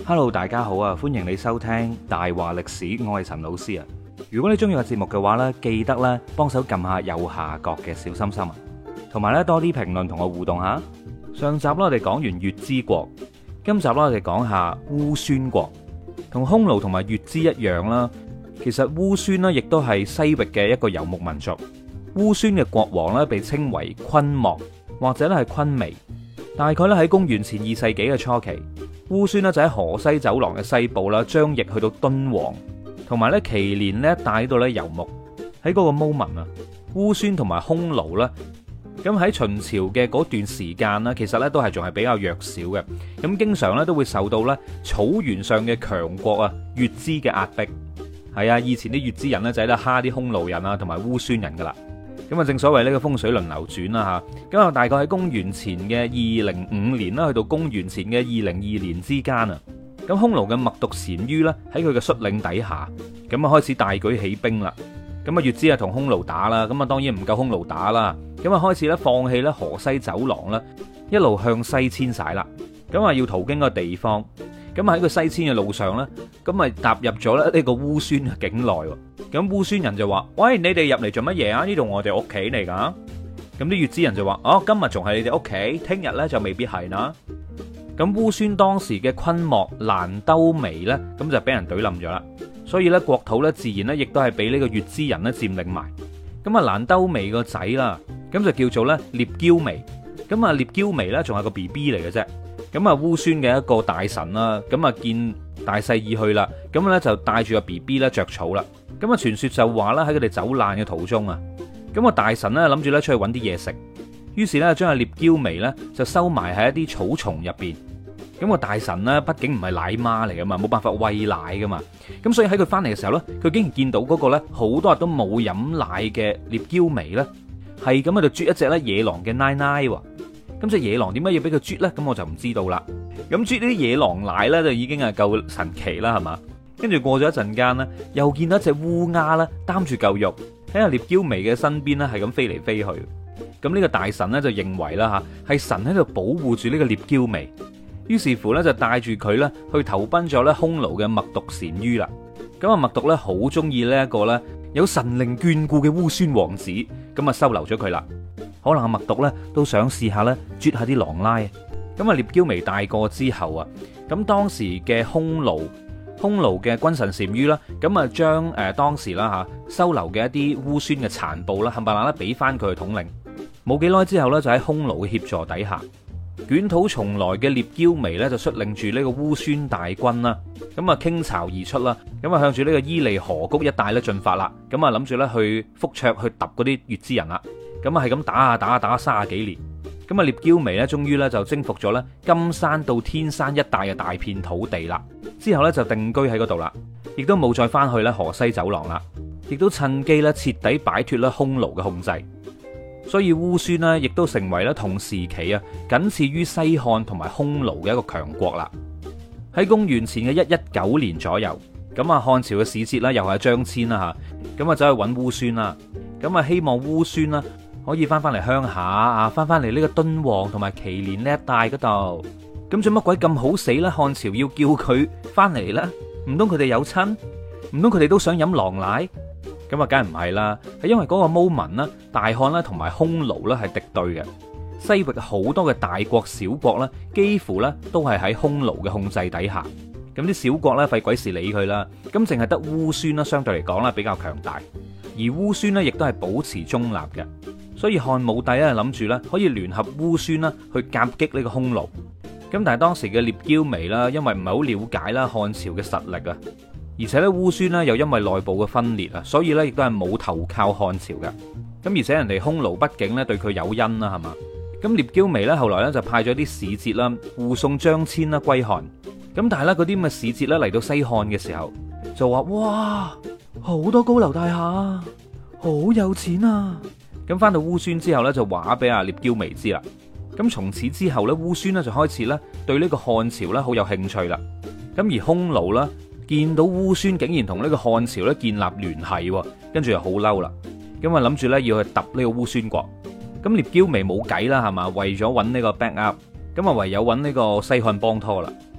Hello，大家好啊！歡迎你收聽大話歷史，我係陳老師啊。如果你中意個節目嘅話呢，記得咧幫手撳下右下角嘅小心心啊，同埋咧多啲評論同我互動下。上集啦，我哋講完月之國，今集啦，我哋講下烏孫國。同匈奴同埋月之一樣啦，其實烏孫呢亦都係西域嘅一個游牧民族。烏孫嘅國王呢，被稱為昆莫或者咧係昆彌。大概咧喺公元前2世紀嘅初期，烏孫呢就喺河西走廊嘅西部啦，張掖去到敦煌，同埋咧祁連呢一帶度咧游牧。喺嗰個 moment 啊，烏孫同埋匈奴啦，咁喺秦朝嘅嗰段時間啦，其實咧都係仲係比較弱小嘅，咁經常咧都會受到咧草原上嘅強國啊月支嘅壓迫。係啊，以前啲月支人咧就喺度蝦啲匈奴人啊同埋烏孫人噶啦。咁啊，正所謂呢個風水輪流轉啦吓，咁啊大概喺公元前嘅205年啦，去到公元前嘅202年之間啊，咁匈奴嘅冒頓單于咧喺佢嘅率領底下，咁啊開始大舉起兵啦。咁啊月支啊同匈奴打啦，咁啊當然唔夠匈奴打啦，咁啊開始咧放棄咧河西走廊啦，一路向西遷徙啦，咁啊要途經個地方，咁喺個西遷嘅路上咧，咁啊踏入咗咧呢個烏孫嘅境內。咁烏孫人就話：喂，你哋入嚟做乜嘢啊？呢度我哋屋企嚟噶。咁啲月支人就話：哦，今日仲係你哋屋企，聽日咧就未必係啦。咁烏孫當時嘅昆莫蘭兜眉咧，咁就俾人懟冧咗啦。所以咧國土咧自然咧亦都係俾呢個月支人咧佔領埋。咁啊蘭兜眉個仔啦，咁就叫做咧獵驕眉。咁啊獵驕眉咧仲係個 BB 嚟嘅啫。咁啊烏孫嘅一個大臣啦，咁啊見大勢已去啦，咁咧就帶住個 BB 咧着草啦。咁啊傳說就話啦，喺佢哋走難嘅途中啊，咁個大臣咧諗住咧出去揾啲嘢食，於是咧將阿獵驕眉咧就收埋喺一啲草叢入邊。咁個大臣咧畢竟唔係奶媽嚟噶嘛，冇辦法餵奶噶嘛，咁所以喺佢翻嚟嘅時候咧，佢竟然見到嗰個咧好多日都冇飲奶嘅獵驕眉咧，係咁喺度啜一隻咧野狼嘅奶奶喎。咁隻野狼點解要俾佢啜咧？咁我就唔知道啦。咁啜呢啲野狼奶咧就已經係夠神奇啦，係嘛？跟住過咗一陣間咧，又見到一隻烏鴉咧擔住嚿肉喺阿獵驕眉嘅身邊咧，係咁飛嚟飛去。咁呢個大臣咧就認為啦吓，係神喺度保護住呢個獵驕眉，於是乎咧就帶住佢咧去投奔咗咧匈奴嘅冒頓單于啦。咁啊冒頓咧好中意呢一個咧有神靈眷顧嘅烏孫王子，咁啊收留咗佢啦。可能阿冒頓咧都想試下咧啜下啲狼奶。咁啊獵驕眉大個之後啊，咁當時嘅匈奴嘅君臣單于啦，咁啊將當時啦吓收留嘅一啲烏孫嘅殘部啦，冚唪唥咧俾翻佢去統領。冇幾耐之後咧，就喺匈奴嘅協助底下，捲土重來嘅獵驕眉咧就率領住呢個烏孫大軍啦，咁啊傾巢而出啦，咁啊向住呢個伊犁河谷一帶咧進發啦，咁啊諗住咧去覆卓去揼嗰啲月支人啦，咁啊係咁打30幾年。咁啊獵驕眉咧終於咧就征服咗咧金山到天山一帶嘅大片土地啦，之後咧就定居喺嗰度啦，亦都冇再翻去咧河西走廊啦，亦都趁機咧徹底擺脫咧匈奴嘅控制。所以烏孫呢亦都成為咧同時期啊僅次於西漢同埋匈奴嘅一個強國啦。喺公元前嘅119年左右，咁啊漢朝嘅使節啦又係張騫啦吓，咁啊走去揾烏孫啦，咁啊希望烏孫啦可以翻嚟鄉下啊，翻嚟呢個敦煌同埋祁連呢一帶嗰度。咁做乜鬼咁好死呢？漢朝要叫佢翻嚟呢？唔通佢哋有親？唔通佢哋都想飲狼奶？咁啊，梗係唔係啦，係因為嗰個 moment 啦，大漢啦同埋匈奴啦係敵對嘅，西域好多嘅大國小國啦，幾乎咧都係喺匈奴嘅控制底下。咁啲小國咧費鬼事理佢啦，咁淨係得烏孫啦，相對嚟講啦比較強大，而烏孫咧亦都係保持中立嘅。所以漢武帝咧諗住咧可以聯合烏孫啦去夾擊呢個匈奴。咁但係當時嘅獵驕眉啦，因為唔係好了解啦漢朝嘅實力啊，而且咧烏孫咧又因為內部嘅分裂啊，所以咧亦都係冇投靠漢朝嘅。咁而且人哋匈奴畢竟咧對佢有恩啦，係嘛？咁獵驕眉咧後來咧就派咗啲使節啦護送張騫啦歸漢。咁但係咧嗰啲咁嘅使節咧嚟到西漢嘅時候就話：哇，好多高樓大廈，好有錢啊！咁翻到烏孫之後咧，就話俾阿獵驕眉知啦。咁從此之後咧，烏孫咧就開始咧對呢個漢朝咧好有興趣啦。咁而匈奴啦見到烏孫竟然同呢個漢朝咧建立聯繫，跟住就好嬲啦。咁啊諗住咧要去揼呢個烏孫國。咁獵驕眉冇計啦，係嘛？為咗揾呢個 back up，咁啊唯有揾呢個西漢幫拖啦。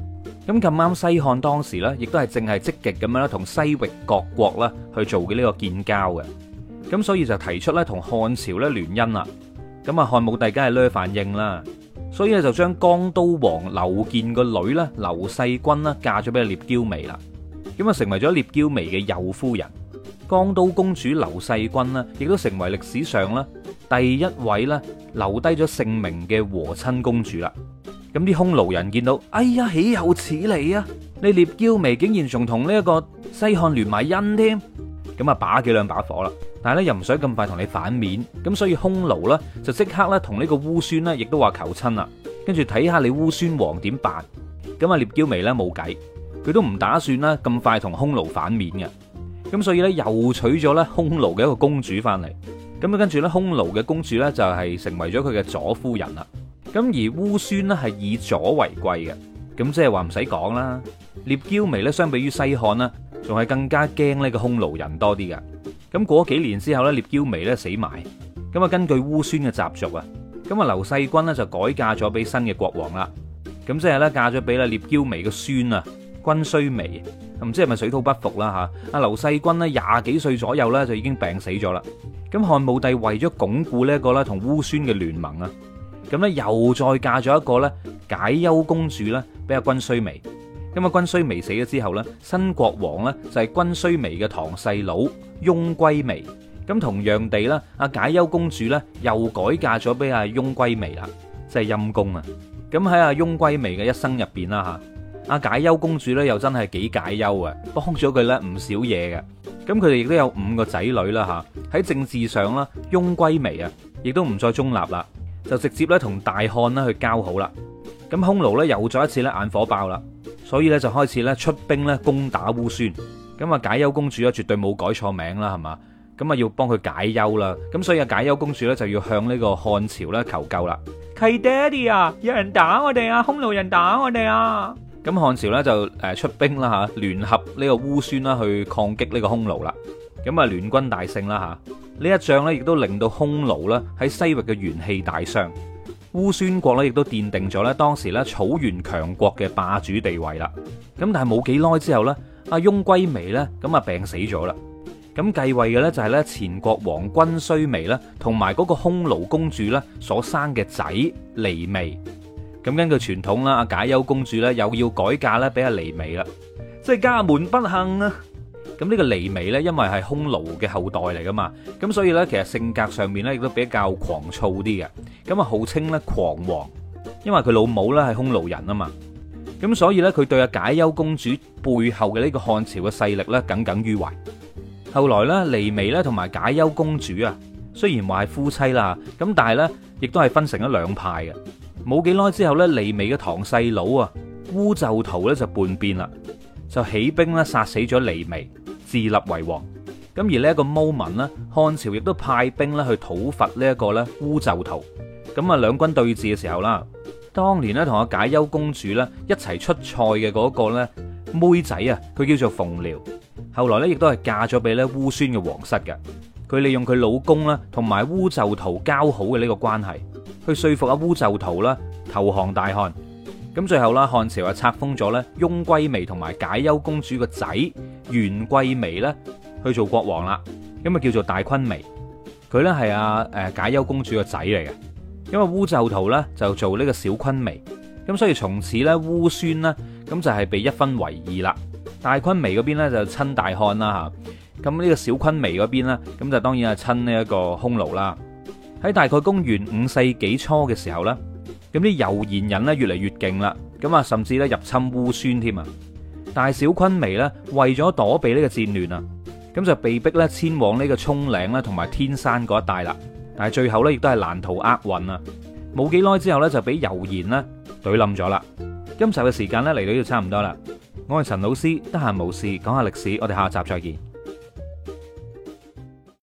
咁咁啱西漢當時呢，亦都係正係積極咁樣咧同西域各國啦去做嘅呢個建交嘅。咁所以就提出咧同漢朝咧聯姻啦。咁啊漢武帝梗係呢反應啦，所以咧就將江都王劉建個女咧劉世君啦嫁咗俾聶嬌眉啦。咁啊成為咗聶嬌眉嘅右夫人。江都公主劉世君呢，亦都成為歷史上咧第一位咧留低咗姓名嘅和親公主啦。咁啲匈奴人見到，哎呀，豈有此理啊！你聶嬌眉竟然仲同呢一個西漢聯埋姻添，咁啊把幾兩把火啦。但係咧又唔想咁快同你反面，咁所以匈奴呢，就即刻咧同呢個烏孫呢，亦都話求親啦。跟住睇下你烏孫王點辦。咁啊聶嬌眉呢，冇計，佢都唔打算啦咁快同匈奴反面嘅。咁所以咧又娶咗咧匈奴嘅一個公主翻嚟。咁啊跟住咧匈奴嘅公主咧就係成為咗佢嘅左夫人啦。咁而烏孫呢，係以左為貴嘅。咁即係話唔使講啦，聶嬌眉咧相比於西漢呢，仲係更加驚呢個匈奴人多啲嘅。咁過咗幾年之後咧，聶嬌眉咧死埋。咁啊根據烏孫嘅習俗啊，咁啊劉世君呢，就改嫁咗俾新嘅國王啦。咁即係咧嫁咗俾咧聶嬌眉嘅孫啊軍須眉。唔知係咪水土不服啦吓？阿劉世君呢，廿幾歲左右咧就已經病死咗啦。咁漢武帝為咗鞏固呢一個咧同烏孫嘅聯盟啊，咁咧又再嫁咗一個咧解憂公主咧俾阿軍須眉。咁啊軍須眉死咗之後咧，新國王咧就係軍須眉嘅堂細佬翁歸眉。咁同樣地咧，阿解憂公主咧又改嫁咗俾阿翁歸眉啦，即係陰公啊！咁喺阿翁歸眉嘅一生入邊啦吓。阿解憂公主咧又真係幾解憂啊，幫咗佢咧唔少嘢嘅。咁佢哋亦都有5個仔女啦吓。喺政治上啦，翁歸眉啊，亦都唔再中立啦，就直接咧同大漢啦去交好啦。咁匈奴咧又再一次咧眼火爆啦，所以咧就開始咧出兵咧攻打烏孫。咁啊解憂公主咧絕對冇改錯名啦，係嘛？咁啊要幫佢解憂啦。咁所以阿解憂公主咧就要向呢個漢朝咧求救啦。契爹哋啊，有人打我哋啊，匈奴人打我哋啊！咁漢朝咧就出兵啦吓，聯合呢個烏孫啦去抗擊呢個匈奴啦。咁啊聯軍大勝啦吓，呢一仗咧亦都令到匈奴啦喺西域嘅元氣大傷。烏孫國咧亦都奠定咗咧當時咧草原強國嘅霸主地位啦。咁但係冇幾耐之後咧，阿翁歸眉咧咁啊病死咗啦。咁繼位嘅咧就係咧前國王軍須眉啦，同埋嗰個匈奴公主咧所生嘅仔離眉。咁根據傳統啦，阿解憂公主咧又要改嫁咧俾阿離眉啦，即係家門不幸啊！咁呢個離眉咧，因為係匈奴嘅後代嚟噶嘛，咁所以咧其實性格上面咧亦都比較狂躁啲嘅，咁啊號稱咧狂王，因為佢老母咧係匈奴人啊嘛，咁所以咧佢對阿解憂公主背後嘅呢個漢朝嘅勢力咧耿耿於懷。後來咧離眉咧同埋解憂公主啊，雖然話係夫妻啦，咁但係咧亦都係分成咗兩派嘅。冇幾耐之後咧，離眉嘅堂細佬啊烏就屠咧就叛變啦，就起兵咧殺死咗離眉，自立為王。咁而呢一個 moment 咧，漢朝亦都派兵咧去討伐呢一個咧烏就屠。咁啊兩軍對峙嘅時候啦，當年咧同阿解憂公主咧一齊出塞嘅嗰個咧妹仔啊，佢叫做馮遼，後來咧亦都係嫁咗俾咧烏孫嘅皇室嘅。佢利用佢老公啦同埋烏就屠交好嘅呢個關係，去說服阿烏就屠啦投降大漢。咁最後啦，漢朝啊冊封咗咧翁歸眉同埋解憂公主個仔元貴眉咧去做國王啦。咁啊叫做大昆眉，佢咧係阿解憂公主個仔嚟嘅。因為烏就屠咧就做呢個小昆眉，咁所以從此咧烏孫呢，咁就係被一分為二啦。大昆眉嗰邊咧就親大漢啦吓。咁呢個小昆眉嗰邊呢，咁就當然係親呢一個匈奴啦。喺大概公元5世紀初嘅時候呢，咁啲柔然人呢越嚟越勁啦，咁啊甚至咧入侵烏孫添啊。大小昆眉呢，為咗躲避呢個戰亂啊，咁就被逼咧遷往呢個蔥嶺啦同埋天山嗰一帶啦。但係最後呢，亦都係難逃厄運啊！冇幾耐之後呢，就俾柔然呢懟冧咗啦。今集嘅時間呢，嚟到呢度差唔多啦。我係陳老師，得閒無事講下歷史，我哋下集再見。